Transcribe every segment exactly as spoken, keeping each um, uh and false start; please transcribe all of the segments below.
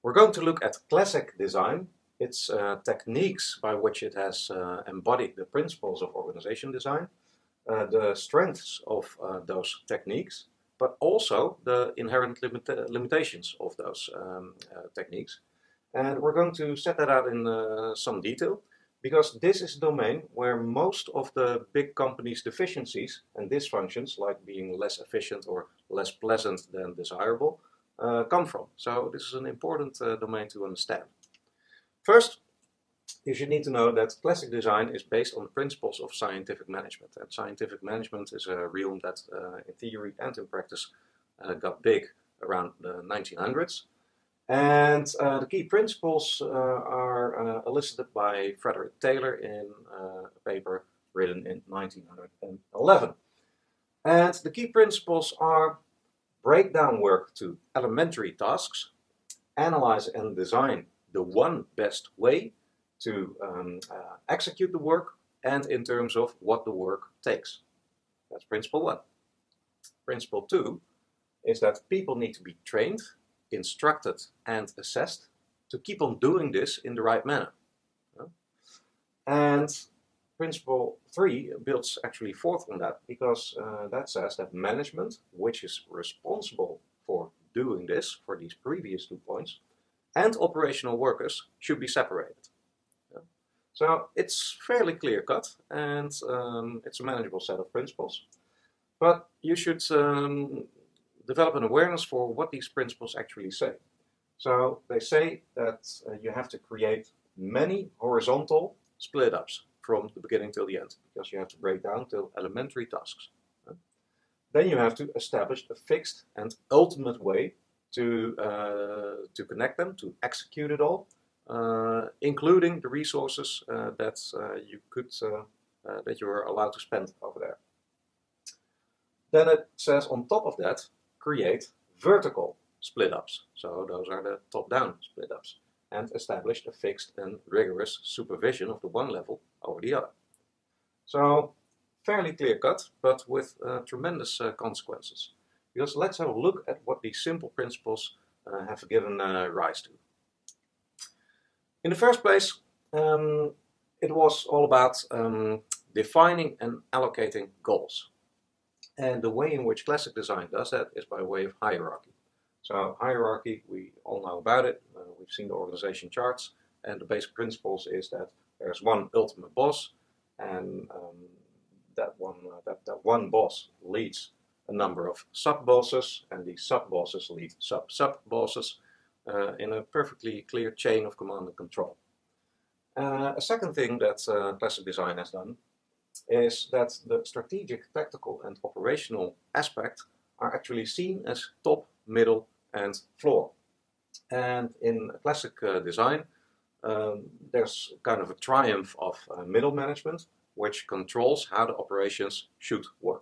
We're going to look at classic design, its uh, techniques by which it has uh, embodied the principles of organization design, uh, the strengths of uh, those techniques, but also the inherent limit limitations of those um, uh, techniques. And we're going to set that out in uh, some detail, because this is a domain where most of the big companies' deficiencies and dysfunctions, like being less efficient or less pleasant than desirable, uh, come from. So this is an important uh, domain to understand. First, you should need to know that classic design is based on the principles of scientific management. And scientific management is a realm that uh, in theory and in practice uh, got big around the nineteen hundreds. And uh, the key principles uh, are uh, elicited by Frederick Taylor in uh, a paper written in nineteen eleven. And the key principles are: break down work to elementary tasks, analyze and design the one best way to um, uh, execute the work, and in terms of what the work takes. That's principle one. Principle two is that people need to be trained, instructed and assessed to keep on doing this in the right manner. And principle three builds actually forth on that, because uh, that says that management, which is responsible for doing this, for these previous two points, and operational workers should be separated. So it's fairly clear-cut, and um, it's a manageable set of principles. But you should um, develop an awareness for what these principles actually say. So they say that uh, you have to create many horizontal split-ups from the beginning till the end, because you have to break down to elementary tasks. Then you have to establish a fixed and ultimate way to, uh, to connect them, to execute it all, uh, including the resources uh, that uh, you could, uh, uh, that you are allowed to spend over there. Then it says on top of that, create vertical split-ups. So those are the top-down split-ups, and establish a fixed and rigorous supervision of the one level over the other. So fairly clear-cut, but with uh, tremendous uh, consequences. Because let's have a look at what these simple principles uh, have given uh, rise to. In the first place, um, it was all about um, defining and allocating goals. And the way in which classic design does that is by way of hierarchy. So hierarchy, we all know about it, uh, we've seen the organization charts, and the basic principles is that there's one ultimate boss, and um, that, one, uh, that, that one boss leads a number of sub-bosses, and these sub-bosses lead sub-sub-bosses uh, in a perfectly clear chain of command and control. Uh, a second thing that uh, classic design has done is that the strategic, tactical and operational aspect are actually seen as top, middle and floor. And in classic uh, design, um, there's kind of a triumph of uh, middle management, which controls how the operations should work.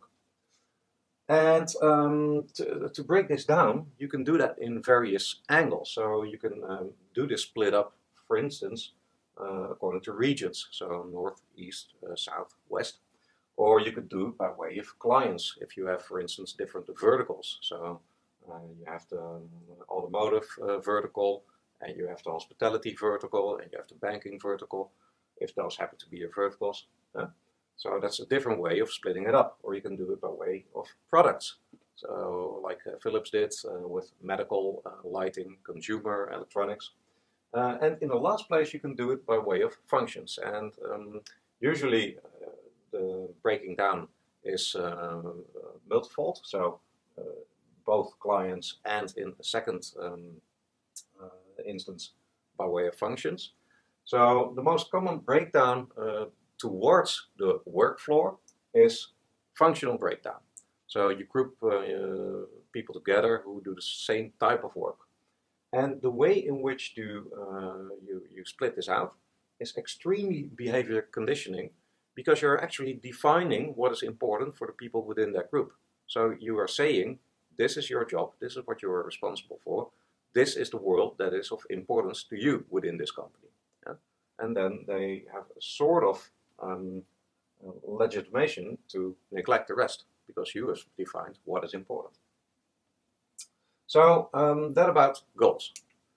And um, to, to break this down, you can do that in various angles. So you can um, do this split up, for instance, uh, according to regions, so north, east, uh, south, west. Or you could do it by way of clients, if you have, for instance, different verticals. So uh, you have the um, automotive uh, vertical, and you have the hospitality vertical, and you have the banking vertical, if those happen to be your verticals. Uh, So that's a different way of splitting it up, or you can do it by way of products. So like uh, Philips did uh, with medical, uh, lighting, consumer electronics. Uh, and in the last place, you can do it by way of functions. And um, usually uh, the breaking down is uh, multifold, so uh, both clients and in a second um, uh, instance by way of functions. So the most common breakdown uh, towards the work floor is functional breakdown. So you group uh, uh, people together who do the same type of work. And the way in which to, uh, you, you split this out is extremely behavior conditioning, because you're actually defining what is important for the people within that group. So you are saying, this is your job, this is what you are responsible for, this is the world that is of importance to you within this company. Yeah? And then they have a sort of um, legitimation to neglect the rest, because you have defined what is important. So um, that about goals.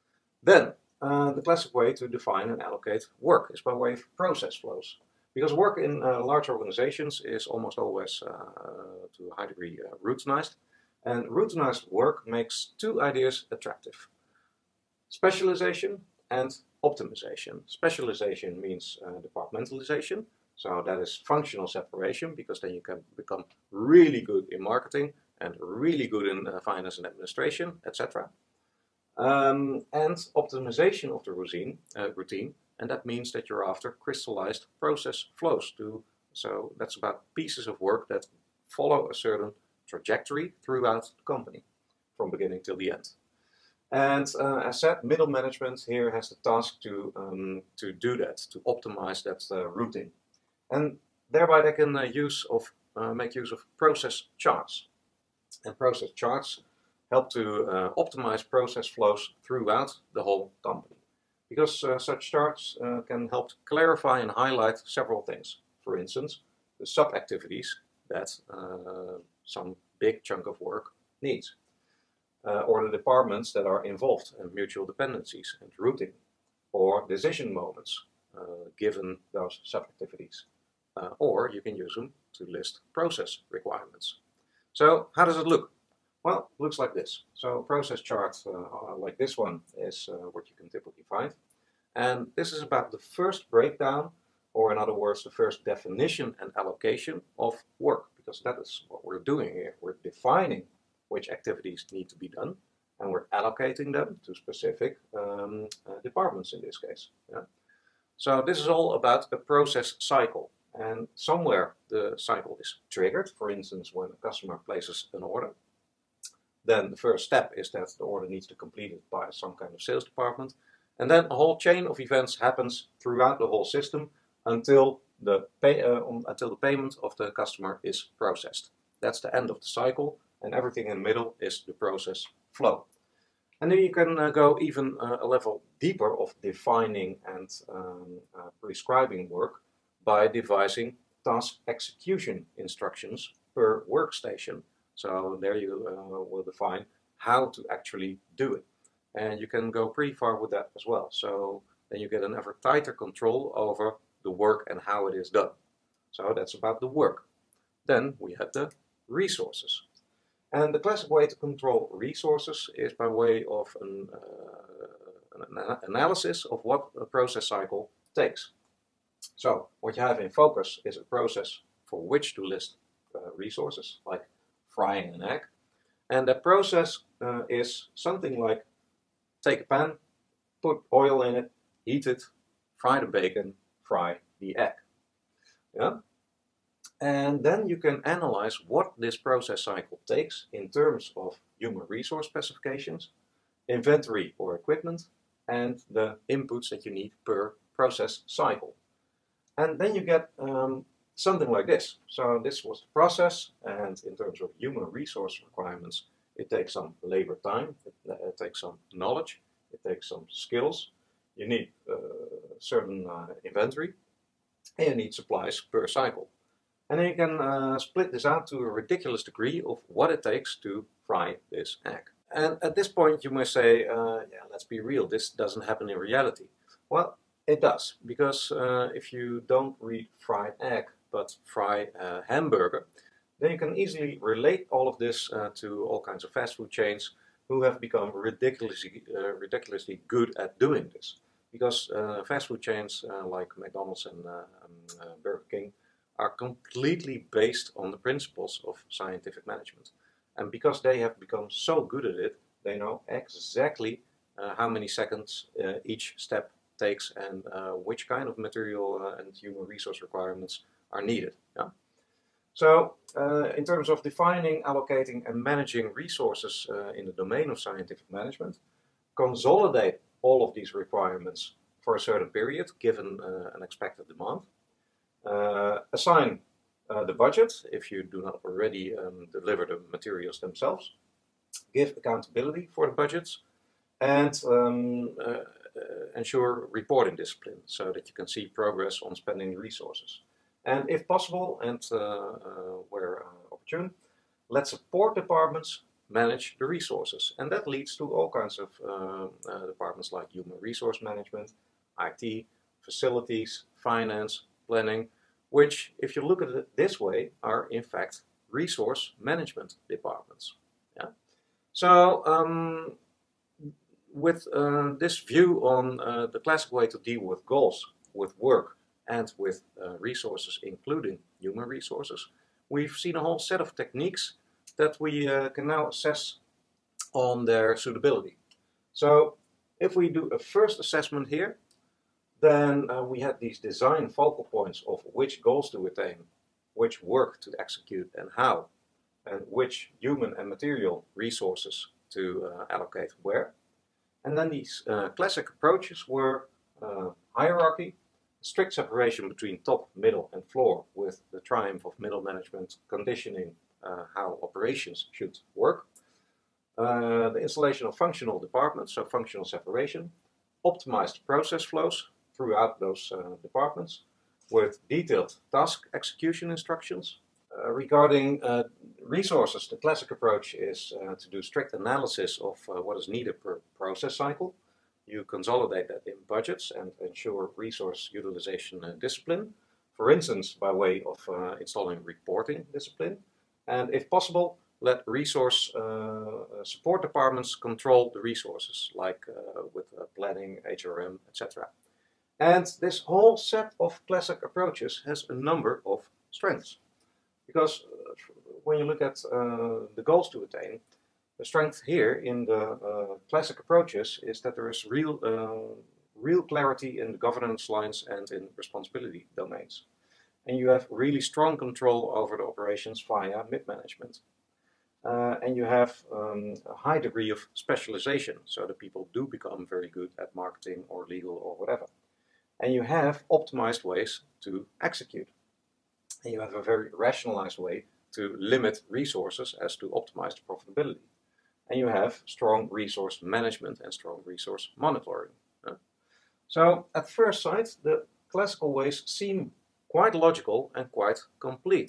Then, uh, the classic way to define and allocate work is by way of process flows. Because work in uh, large organizations is almost always, uh, to a high degree, uh, routinized. And routinized work makes two ideas attractive: specialization and optimization. Specialization means uh, departmentalization. So that is functional separation, because then you can become really good in marketing and really good in uh, finance and administration, et cetera. Um, and optimization of the routine, uh, routine, and that means that you're after crystallized process flows. To, so that's about pieces of work that follow a certain trajectory throughout the company, from beginning till the end. And uh, as said, middle management here has the task to, um, to do that, to optimize that uh, routine. And thereby they can uh, use of, uh, make use of process charts. And process charts help to uh, optimize process flows throughout the whole company. Because uh, such charts uh, can help to clarify and highlight several things. For instance, the sub-activities that uh, some big chunk of work needs. Uh, or the departments that are involved in mutual dependencies and routing. Or decision moments uh, given those sub-activities. Uh, or you can use them to list process requirements. So how does it look? Well, it looks like this. So a process chart uh, like this one is uh, what you can typically find. And this is about the first breakdown, or in other words, the first definition and allocation of work, because that is what we're doing here. We're defining which activities need to be done, and we're allocating them to specific um, uh, departments in this case. Yeah? So this is all about a process cycle. And somewhere the cycle is triggered, for instance, when a customer places an order. Then the first step is that the order needs to be completed by some kind of sales department. And then a whole chain of events happens throughout the whole system until the, pay, uh, until the payment of the customer is processed. That's the end of the cycle, and everything in the middle is the process flow. And then you can uh, go even uh, a level deeper of defining and um, uh, prescribing work by devising task execution instructions per workstation. So there you uh, will define how to actually do it. And you can go pretty far with that as well. So then you get an ever tighter control over the work and how it is done. So that's about the work. Then we have the resources. And the classic way to control resources is by way of an, uh, an analysis of what a process cycle takes. So what you have in focus is a process for which to list uh, resources, like frying an egg. And that process uh, is something like take a pan, put oil in it, heat it, fry the bacon, fry the egg. Yeah? And then you can analyze what this process cycle takes in terms of human resource specifications, inventory or equipment, and the inputs that you need per process cycle. And then you get um, something like this. So this was the process, and in terms of human resource requirements, it takes some labor time, it, uh, it takes some knowledge, it takes some skills, you need uh, certain uh, inventory, and you need supplies per cycle. And then you can uh, split this out to a ridiculous degree of what it takes to fry this egg. And at this point you may say, uh, yeah, let's be real, this doesn't happen in reality. Well, it does, because uh, if you don't read fried egg, but fry a hamburger, then you can easily relate all of this uh, to all kinds of fast food chains who have become ridiculously, uh, ridiculously good at doing this. Because uh, fast food chains uh, like McDonald's and uh, um, uh, Burger King are completely based on the principles of scientific management. And because they have become so good at it, they know exactly uh, how many seconds uh, each step takes and uh, which kind of material uh, and human resource requirements are needed. Yeah? So, uh, in terms of defining, allocating and managing resources uh, in the domain of scientific management, consolidate all of these requirements for a certain period, given uh, an expected demand. Uh, assign uh, the budget if you do not already um, deliver the materials themselves. Give accountability for the budgets, and um, uh, uh, ensure reporting discipline so that you can see progress on spending resources. And if possible, and uh, uh, where uh, opportune, let's support departments manage the resources. And that leads to all kinds of uh, uh, departments like human resource management, I T, facilities, finance, planning, which, if you look at it this way, are in fact resource management departments. Yeah? So, um, with uh, this view on uh, the classic way to deal with goals, with work, and with uh, resources, including human resources, we've seen a whole set of techniques that we uh, can now assess on their suitability. So if we do a first assessment here, then uh, we had these design focal points of which goals to attain, which work to execute and how, and which human and material resources to uh, allocate where. And then these uh, classic approaches were uh, hierarchy, strict separation between top, middle, and floor, with the triumph of middle management conditioning uh, how operations should work. Uh, the installation of functional departments, so functional separation, optimized process flows throughout those uh, departments, with detailed task execution instructions. Uh, regarding uh, resources, the classic approach is uh, to do strict analysis of uh, what is needed per process cycle. You consolidate that in budgets and ensure resource utilization and discipline, for instance, by way of uh, installing reporting discipline. And if possible, let resource uh, support departments control the resources, like uh, with uh, planning, H R M, et cetera. And this whole set of classic approaches has a number of strengths. Because uh, when you look at uh, the goals to attain, the strength here in the uh, classic approaches is that there is real, uh, real clarity in the governance lines and in responsibility domains. And you have really strong control over the operations via mid-management. Uh, and you have um, a high degree of specialization, so that people do become very good at marketing or legal or whatever. And you have optimized ways to execute. And you have a very rationalized way to limit resources as to optimize the profitability. And you have strong resource management and strong resource monitoring. Uh, so at first sight, the classical ways seem quite logical and quite complete.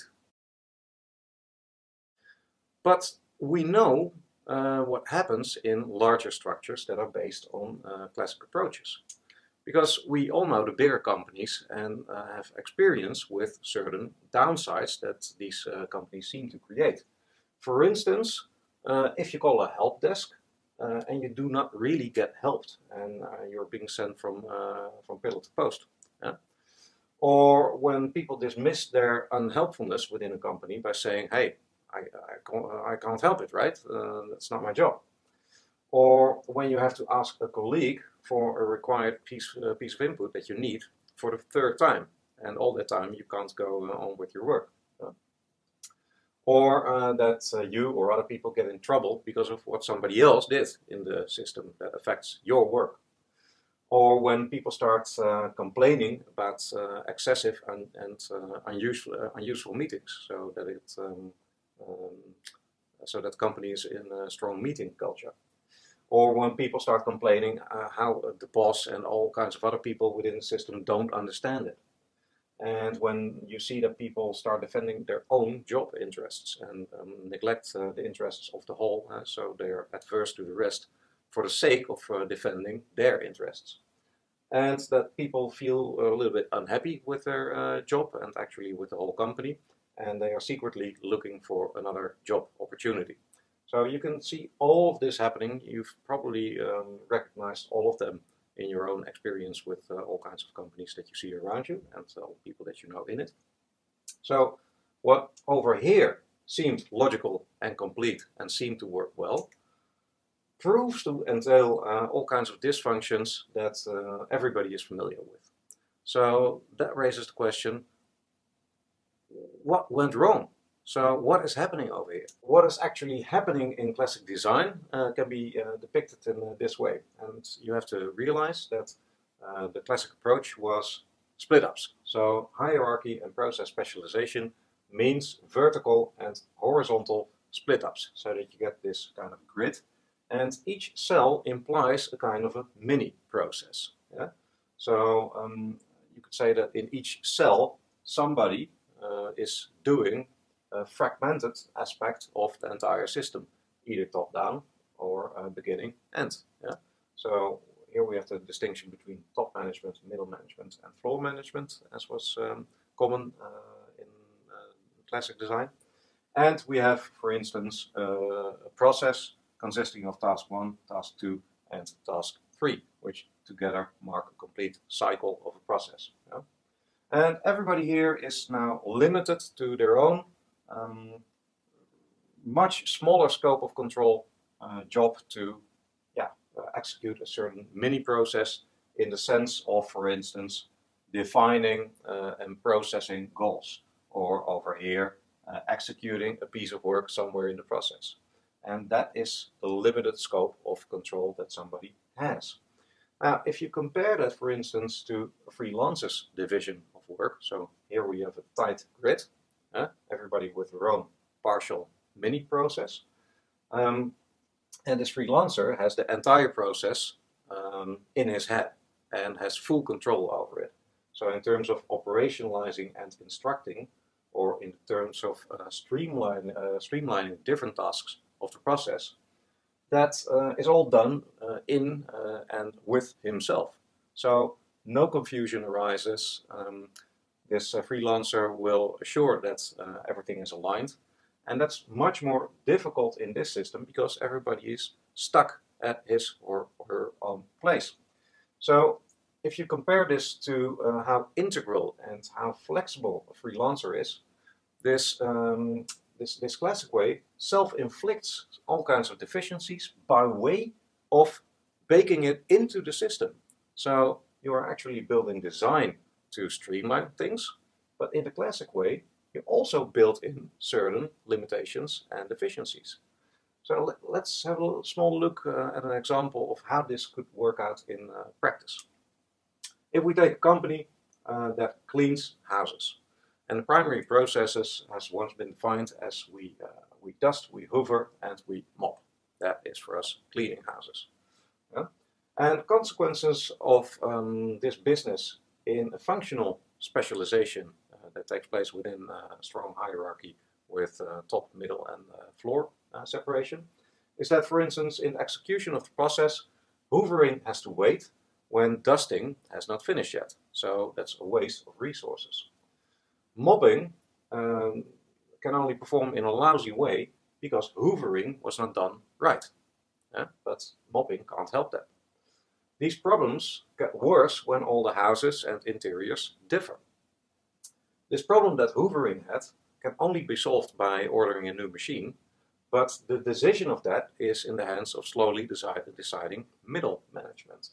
But we know uh, what happens in larger structures that are based on uh, classic approaches. Because we all know the bigger companies and uh, have experience with certain downsides that these uh, companies seem to create. For instance, uh, if you call a help desk uh, and you do not really get helped and uh, you're being sent from, uh, from pillar to post. Yeah? Or when people dismiss their unhelpfulness within a company by saying, hey, I, I, can't, I can't help it, right? Uh, that's not my job. Or when you have to ask a colleague for a required piece, uh, piece of input that you need for the third time, and all that time you can't go on with your work. Uh, or uh, that uh, you or other people get in trouble because of what somebody else did in the system that affects your work. Or when people start uh, complaining about uh, excessive and, and uh, unuseful, uh, unuseful meetings, so that it um, um, so that companies in a strong meeting culture. Or when people start complaining uh, how the boss and all kinds of other people within the system don't understand it. And when you see that people start defending their own job interests and um, neglect uh, the interests of the whole, uh, so they're adverse to the rest for the sake of uh, defending their interests. And that people feel a little bit unhappy with their uh, job and actually with the whole company, and they are secretly looking for another job opportunity. So you can see all of this happening. You've probably um, recognized all of them in your own experience with uh, all kinds of companies that you see around you and all people that you know in it. So what over here seemed logical and complete and seemed to work well proves to entail uh, all kinds of dysfunctions that uh, everybody is familiar with. So that raises the question, what went wrong? So what is happening over here? What is actually happening in classic design uh, can be uh, depicted in uh, this way. And you have to realize that uh, the classic approach was split-ups. So hierarchy and process specialization means vertical and horizontal split-ups, so that you get this kind of grid. And each cell implies a kind of a mini process. Yeah? So um, you could say that in each cell, somebody uh, is doing a fragmented aspect of the entire system. either top-down or uh, beginning-end. Yeah? So here we have the distinction between top management, middle management, and floor management, as was um, common uh, in uh, classic design. And we have, for instance, uh, a process consisting of task one, task two, and task three, which together mark a complete cycle of a process. Yeah? And everybody here is now limited to their own um, much smaller scope of control uh, job to yeah, uh, execute a certain mini process in the sense of, for instance, defining uh, and processing goals, or over here, uh, executing a piece of work somewhere in the process. And that is the limited scope of control that somebody has. Now, if you compare that, for instance, to a freelancer's division of work, so here we have a tight grid, uh, everybody with their own partial mini process, um, and this freelancer has the entire process um, in his head and has full control over it. So in terms of operationalizing and instructing, or in terms of uh, streamline, uh, streamlining different tasks of the process, that uh, is all done uh, in uh, and with himself. So no confusion arises. Um, this uh, freelancer will assure that uh, everything is aligned. And that's much more difficult in this system because everybody is stuck at his or her own place. So if you compare this to uh, how integral and how flexible a freelancer is, this um, This, this classic way self-inflicts all kinds of deficiencies by way of baking it into the system. So you are actually building design to streamline things, but in the classic way, you also build in certain limitations and deficiencies. So let, let's have a small look uh, at an example of how this could work out in uh, practice. If we take a company uh, that cleans houses, and the primary processes has once been defined as we, uh, we dust, we hoover, and we mop. That is for us cleaning houses. Yeah? And consequences of um, this business in a functional specialization uh, that takes place within a strong hierarchy with uh, top, middle, and uh, floor uh, separation is that, for instance, in execution of the process, hoovering has to wait when dusting has not finished yet. So that's a waste of resources. Mopping um, can only perform in a lousy way because hoovering was not done right. Yeah? But mopping can't help that. These problems get worse when all the houses and interiors differ. This problem that hoovering had can only be solved by ordering a new machine, but the decision of that is in the hands of slowly decide, deciding middle management.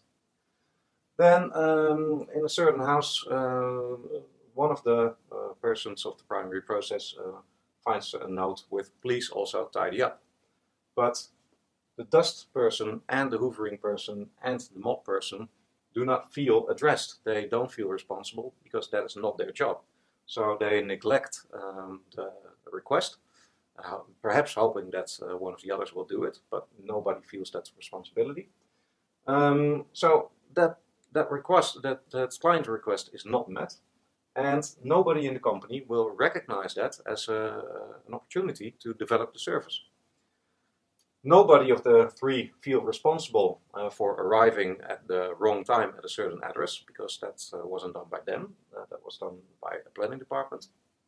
Then um, in a certain house, uh, one of the uh, persons of the primary process uh, finds a note with please also tidy up. But the dust person and the hoovering person and the mop person do not feel addressed. They don't feel responsible because that is not their job. So they neglect um, the request, uh, perhaps hoping that uh, one of the others will do it, but nobody feels that responsibility. Um, so that, that request, that, that client request is not met. And nobody in the company will recognize that as a, an opportunity to develop the service. Nobody of the three feel responsible uh, for arriving at the wrong time at a certain address, because that uh, wasn't done by them, uh, that was done by the planning department.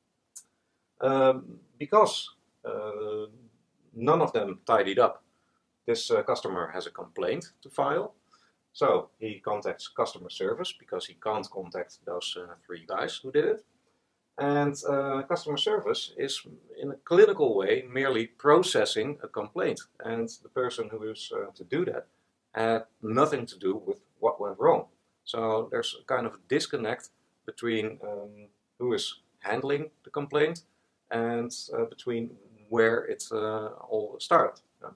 Um, because uh, none of them tidied up, this uh, customer has a complaint to file. So he contacts customer service because he can't contact those uh, three guys who did it. And uh, customer service is, in a clinical way, merely processing a complaint. And the person who is uh, to do that had nothing to do with what went wrong. So there's a kind of disconnect between um, who is handling the complaint and uh, between where it uh, all started. Yeah.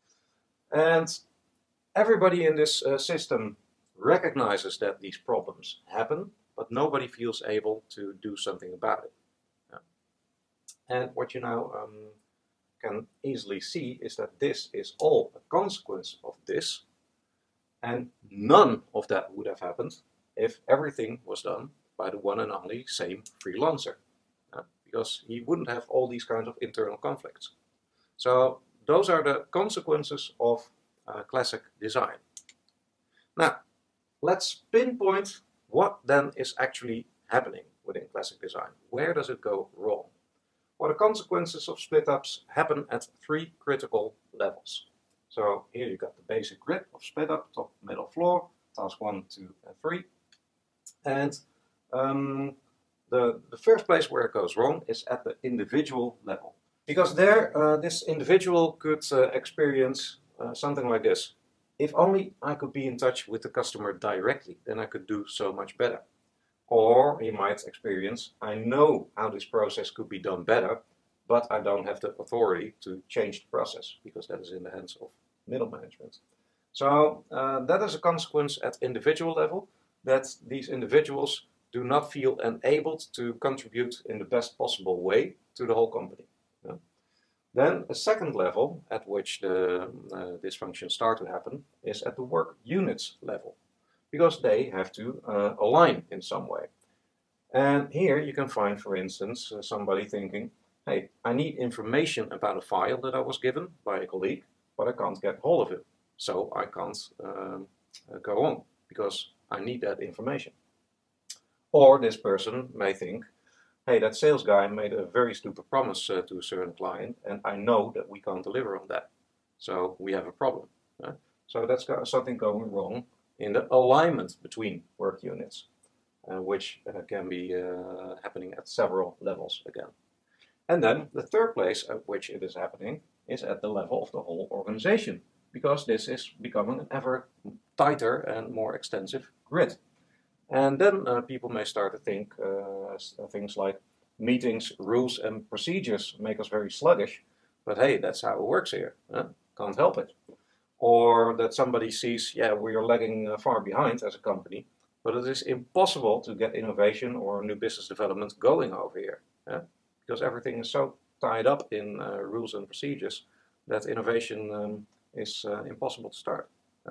And everybody in this uh, system recognizes that these problems happen, but nobody feels able to do something about it. Yeah. And what you now um, can easily see is that this is all a consequence of this, and none of that would have happened if everything was done by the one and only same freelancer, yeah, because he wouldn't have all these kinds of internal conflicts. So those are the consequences of uh, classic design. Now, let's pinpoint what then is actually happening within classic design. Where does it go wrong? Well, the consequences of split-ups happen at three critical levels. So here you got the basic grid of split-up, top, middle, floor, task one, two, and three. And um, the, the first place where it goes wrong is at the individual level. Because there, uh, this individual could uh, experience uh, something like this. If only I could be in touch with the customer directly, then I could do so much better. Or he might experience, I know how this process could be done better, but I don't have the authority to change the process, because that is in the hands of middle management. So uh, that is a consequence at individual level, that these individuals do not feel enabled to contribute in the best possible way to the whole company. Yeah. Then a second level at which the uh, dysfunctions start to happen is at the work units level, because they have to uh, align in some way. And here you can find, for instance, uh, somebody thinking, hey, I need information about a file that I was given by a colleague, but I can't get hold of it. So I can't um, uh, go on, because I need that information. Or this person may think, hey, that sales guy made a very stupid promise uh, to a certain client, and I know that we can't deliver on that. So we have a problem. Right? So that's got something going wrong in the alignment between work units, uh, which uh, can be uh, happening at several levels again. And then the third place at which it is happening is at the level of the whole organization, because this is becoming an ever tighter and more extensive grid. And then uh, people may start to think uh, things like meetings, rules and procedures make us very sluggish, but hey, that's how it works here, huh? Can't help it. Or that somebody sees, yeah, we are lagging uh, far behind as a company, but it is impossible to get innovation or new business development going over here, yeah? Because everything is so tied up in uh, rules and procedures that innovation um, is uh, impossible to start. Yeah.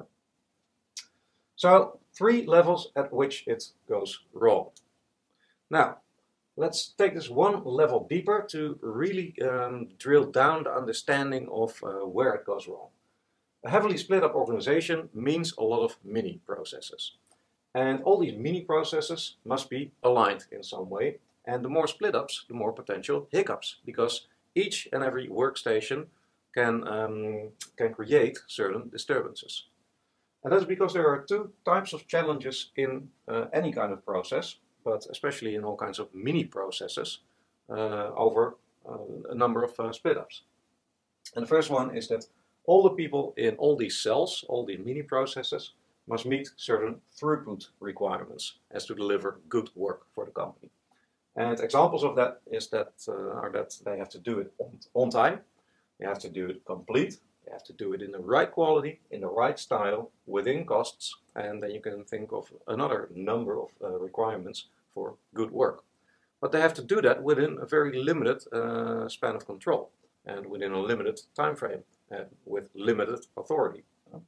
So, three levels at which it goes wrong. Now, let's take this one level deeper to really um, drill down the understanding of uh, where it goes wrong. A heavily split up organization means a lot of mini processes. And all these mini processes must be aligned in some way. And the more split ups, the more potential hiccups, because each and every workstation can, um, can create certain disturbances. And that's because there are two types of challenges in uh, any kind of process, but especially in all kinds of mini processes uh, over uh, a number of uh, split ups. And the first one is that all the people in all these cells, all the mini processes, must meet certain throughput requirements as to deliver good work for the company. And examples of that is that uh, are that they have to do it on, on time, they have to do it complete, they have to do it in the right quality, in the right style, within costs, and then you can think of another number of uh, requirements for good work. But they have to do that within a very limited uh, span of control and within a limited time frame and with limited authority.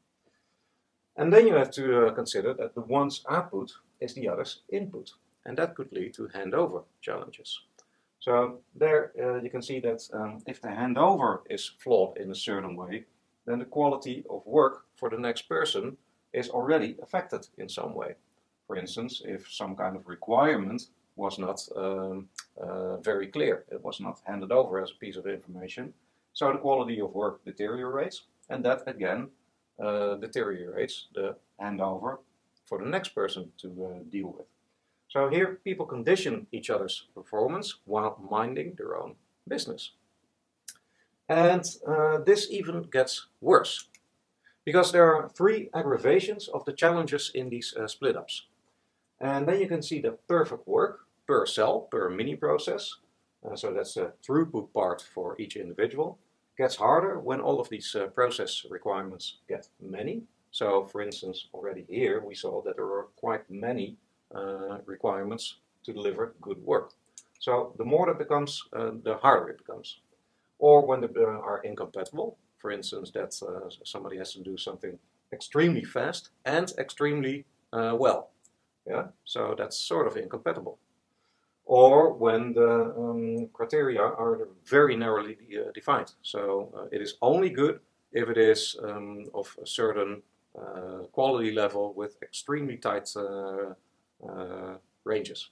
And then you have to uh, consider that the one's output is the other's input. And that could lead to handover challenges. So there uh, you can see that um, if the handover is flawed in a certain way, then the quality of work for the next person is already affected in some way. For instance, if some kind of requirement was not um, uh, very clear, it was not handed over as a piece of information, so the quality of work deteriorates, and that again uh, deteriorates the handover for the next person to uh, deal with. So here people condition each other's performance while minding their own business. And uh, this even gets worse, because there are three aggravations of the challenges in these uh, split-ups. And then you can see the perfect work per cell, per mini process, uh, so that's the throughput part for each individual, gets harder when all of these uh, process requirements get many. So for instance, already here we saw that there were quite many Uh, requirements to deliver good work. So the more that becomes, uh, the harder it becomes. Or when they uh, are incompatible, for instance that uh, somebody has to do something extremely fast and extremely uh, well. Yeah? So that's sort of incompatible. or when the um, criteria are very narrowly uh, defined. So uh, it is only good if it is um, of a certain uh, quality level with extremely tight uh, uh, ranges.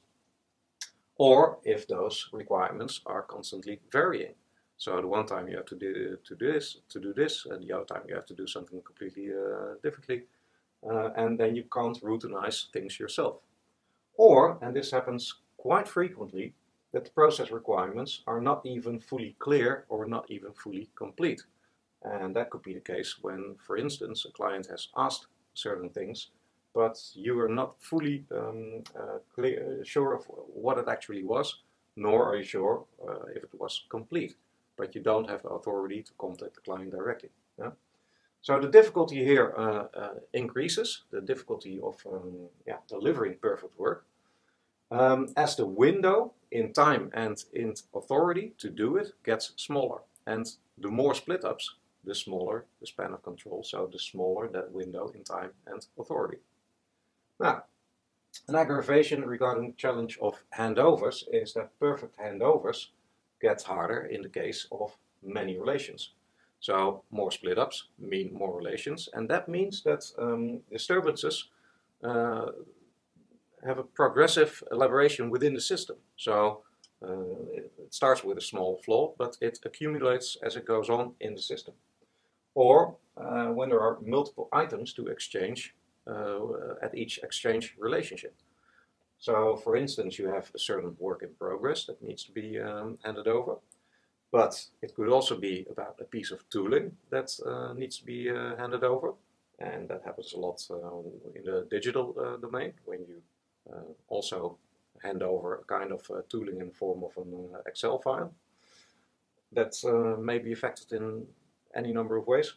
Or if those requirements are constantly varying. So the one time you have to do, to do this, to do this, and the other time you have to do something completely uh, differently, uh, and then you can't routinize things yourself. Or, and this happens quite frequently, that the process requirements are not even fully clear or not even fully complete. And that could be the case when, for instance, a client has asked certain things, but you are not fully um, uh, clear, sure of what it actually was, nor are you sure uh, if it was complete. But you don't have the authority to contact the client directly. Yeah? So the difficulty here uh, uh, increases, the difficulty of um, yeah, delivering perfect work, um, as the window in time and in authority to do it gets smaller. And the more split ups, the smaller the span of control, so the smaller that window in time and authority. Now, an aggravation regarding the challenge of handovers is that perfect handovers get harder in the case of many relations. So more split ups mean more relations, and that means that um, disturbances uh, have a progressive elaboration within the system. So uh, it starts with a small flaw, but it accumulates as it goes on in the system. Or uh, when there are multiple items to exchange uh, at each exchange relationship. So for instance, you have a certain work in progress that needs to be um, handed over, but it could also be about a piece of tooling that uh, needs to be uh, handed over. And that happens a lot uh, in the digital uh, domain when you uh, also hand over a kind of uh, tooling in the form of an uh, Excel file that uh, may be affected in any number of ways.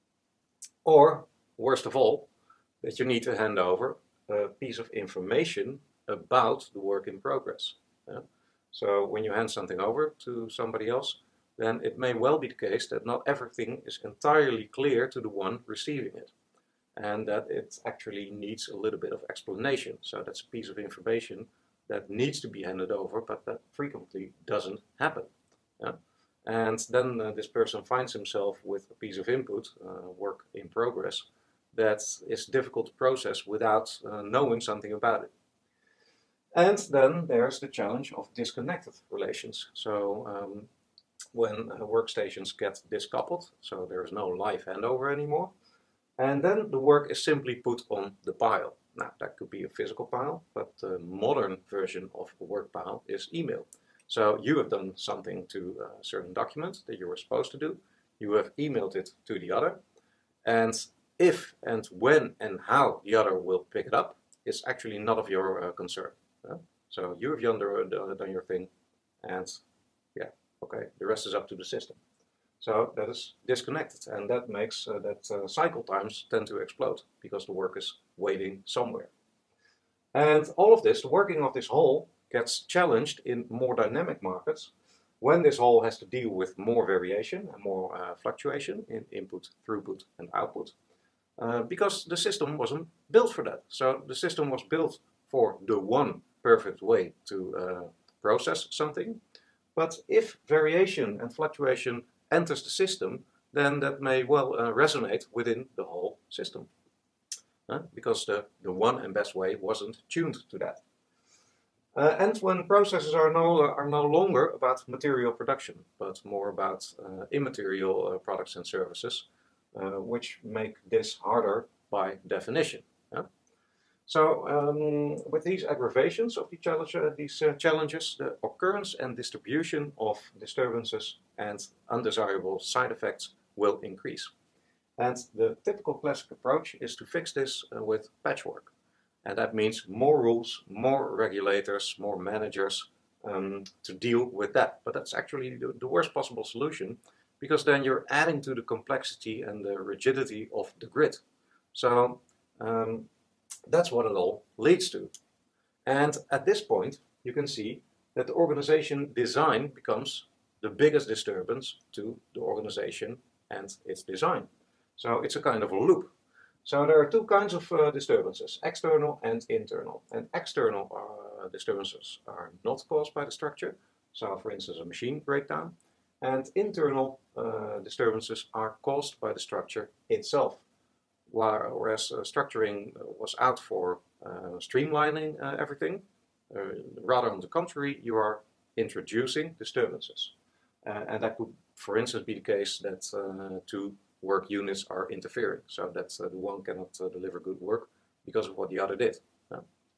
Or, worst of all, that you need to hand over a piece of information about the work in progress. Yeah? So when you hand something over to somebody else, then it may well be the case that not everything is entirely clear to the one receiving it, and that it actually needs a little bit of explanation. So that's a piece of information that needs to be handed over, but that frequently doesn't happen. Yeah? And then uh, this person finds himself with a piece of input, uh, work in progress, that is difficult to process without uh, knowing something about it. And then there's the challenge of disconnected relations. So um, when uh, workstations get discoupled, so there is no live handover anymore, and then the work is simply put on the pile. Now, that could be a physical pile, but the modern version of a work pile is email. So you have done something to a certain document that you were supposed to do. You have emailed it to the other. And if and when and how the other will pick it up is actually not of your uh, concern. Uh, so you have done, uh, done your thing, and yeah, okay, the rest is up to the system. So that is disconnected, and that makes uh, that uh, cycle times tend to explode because the work is waiting somewhere. And all of this, the working of this whole, gets challenged in more dynamic markets when this whole has to deal with more variation and more uh, fluctuation in input, throughput, and output, uh, because the system wasn't built for that. So the system was built for the one perfect way to uh, process something, but if variation and fluctuation enters the system, then that may well uh, resonate within the whole system, uh, because the, the one and best way wasn't tuned to that. Uh, and when processes are no, are no longer about material production, but more about uh, immaterial uh, products and services, uh, which make this harder by definition. Yeah? So, um, with these aggravations of the challenge, uh, these uh, challenges, the occurrence and distribution of disturbances and undesirable side effects will increase. And the typical classic approach is to fix this uh, with patchwork. And that means more rules, more regulators, more managers um, to deal with that. But that's actually the, the worst possible solution, because then you're adding to the complexity and the rigidity of the grid. So um, that's what it all leads to. And at this point, you can see that the organization design becomes the biggest disturbance to the organization and its design. So it's a kind of a loop. So there are two kinds of uh, disturbances, external and internal. And external uh, disturbances are not caused by the structure, so for instance a machine breakdown. And internal uh, disturbances are caused by the structure itself. Whereas uh, structuring was out for uh, streamlining uh, everything, uh, rather on the contrary, you are introducing disturbances. Uh, and that could, for instance, be the case that uh, two work units are interfering, so that uh, the one cannot uh, deliver good work because of what the other did. Yeah.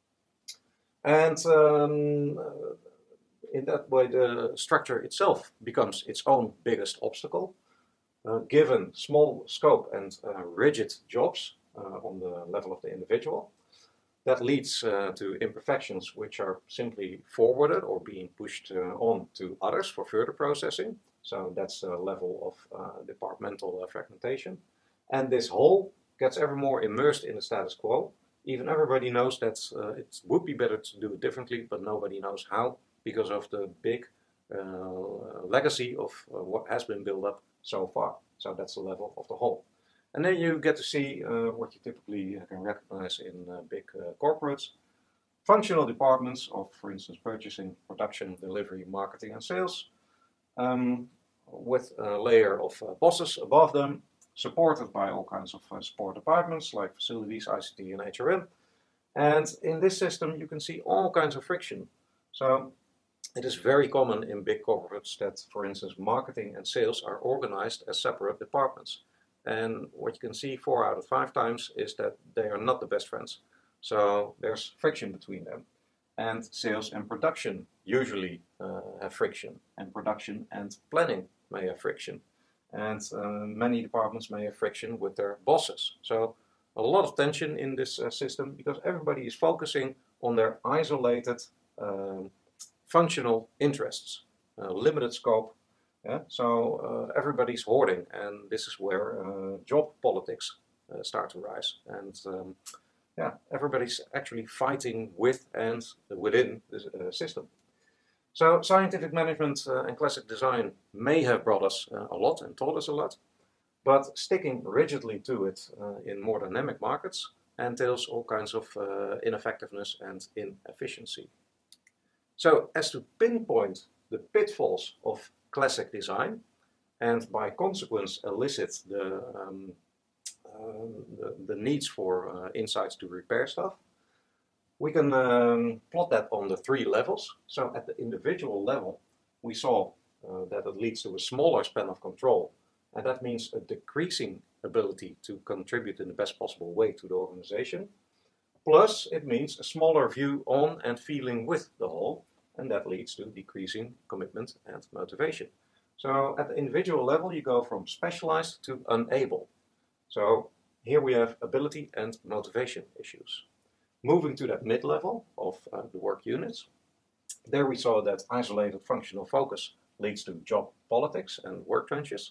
And um, uh, in that way, the structure itself becomes its own biggest obstacle. Uh, given small scope and uh, rigid jobs uh, on the level of the individual, that leads uh, to imperfections which are simply forwarded or being pushed uh, on to others for further processing. So that's the level of uh, departmental uh, fragmentation. And this whole gets ever more immersed in the status quo. Even everybody knows that uh, it would be better to do it differently, but nobody knows how because of the big uh, legacy of uh, what has been built up so far. So that's the level of the whole. And then you get to see uh, what you typically can recognize in uh, big uh, corporates. Functional departments of, for instance, purchasing, production, delivery, marketing and sales, um, with a layer of uh, bosses above them, supported by all kinds of uh, support departments like facilities, I C T and H R M. And in this system you can see all kinds of friction. So it is very common in big corporates that, for instance, marketing and sales are organized as separate departments. And what you can see four out of five times is that they are not the best friends. So there's friction between them. And sales and production usually uh, have friction. And production and planning may have friction. And uh, many departments may have friction with their bosses. So a lot of tension in this uh, system because everybody is focusing on their isolated um, functional interests, uh, limited scope. Yeah? So uh, everybody's hoarding, and this is where uh, job politics uh, start to rise. And um, yeah, everybody's actually fighting with and within the uh, system. So scientific management uh, and classic design may have brought us uh, a lot and taught us a lot, but sticking rigidly to it uh, in more dynamic markets entails all kinds of uh, ineffectiveness and inefficiency. So as to pinpoint the pitfalls of classic design and by consequence elicit the, um, uh, the, the needs for uh, insights to repair stuff, we can um, plot that on the three levels. So at the individual level, we saw uh, that it leads to a smaller span of control, and that means a decreasing ability to contribute in the best possible way to the organization. Plus, it means a smaller view on and feeling with the whole, and that leads to decreasing commitment and motivation. So at the individual level, you go from specialized to unable. So here we have ability and motivation issues. Moving to that mid-level of uh, the work units, there we saw that isolated functional focus leads to job politics and work trenches.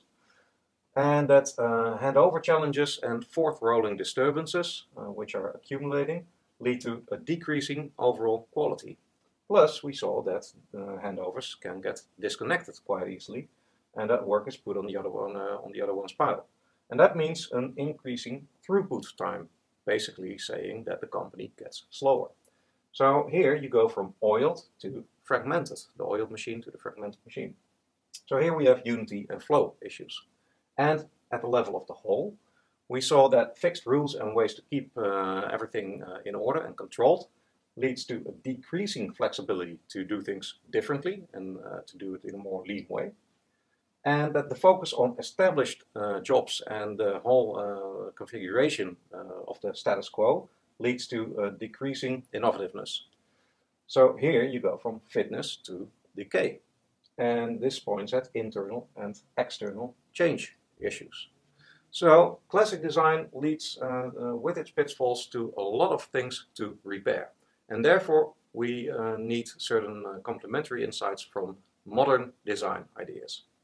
And that uh, handover challenges and forth rolling disturbances, uh, which are accumulating, lead to a decreasing overall quality. Plus, we saw that uh, handovers can get disconnected quite easily, and that work is put on the other one uh, on the other one's pile. And that means an increasing throughput time, basically saying that the company gets slower. So here you go from oiled to fragmented, the oiled machine to the fragmented machine. So here we have unity and flow issues. And at the level of the whole, we saw that fixed rules and ways to keep uh, everything uh, in order and controlled leads to a decreasing flexibility to do things differently and uh, to do it in a more lean way. And that the focus on established uh, jobs and the whole uh, configuration uh, of the status quo leads to a decreasing innovativeness. So here you go from fitness to decay. And this points at internal and external change issues. So classic design leads uh, uh, with its pitfalls to a lot of things to repair. And therefore we uh, need certain uh, complementary insights from modern design ideas.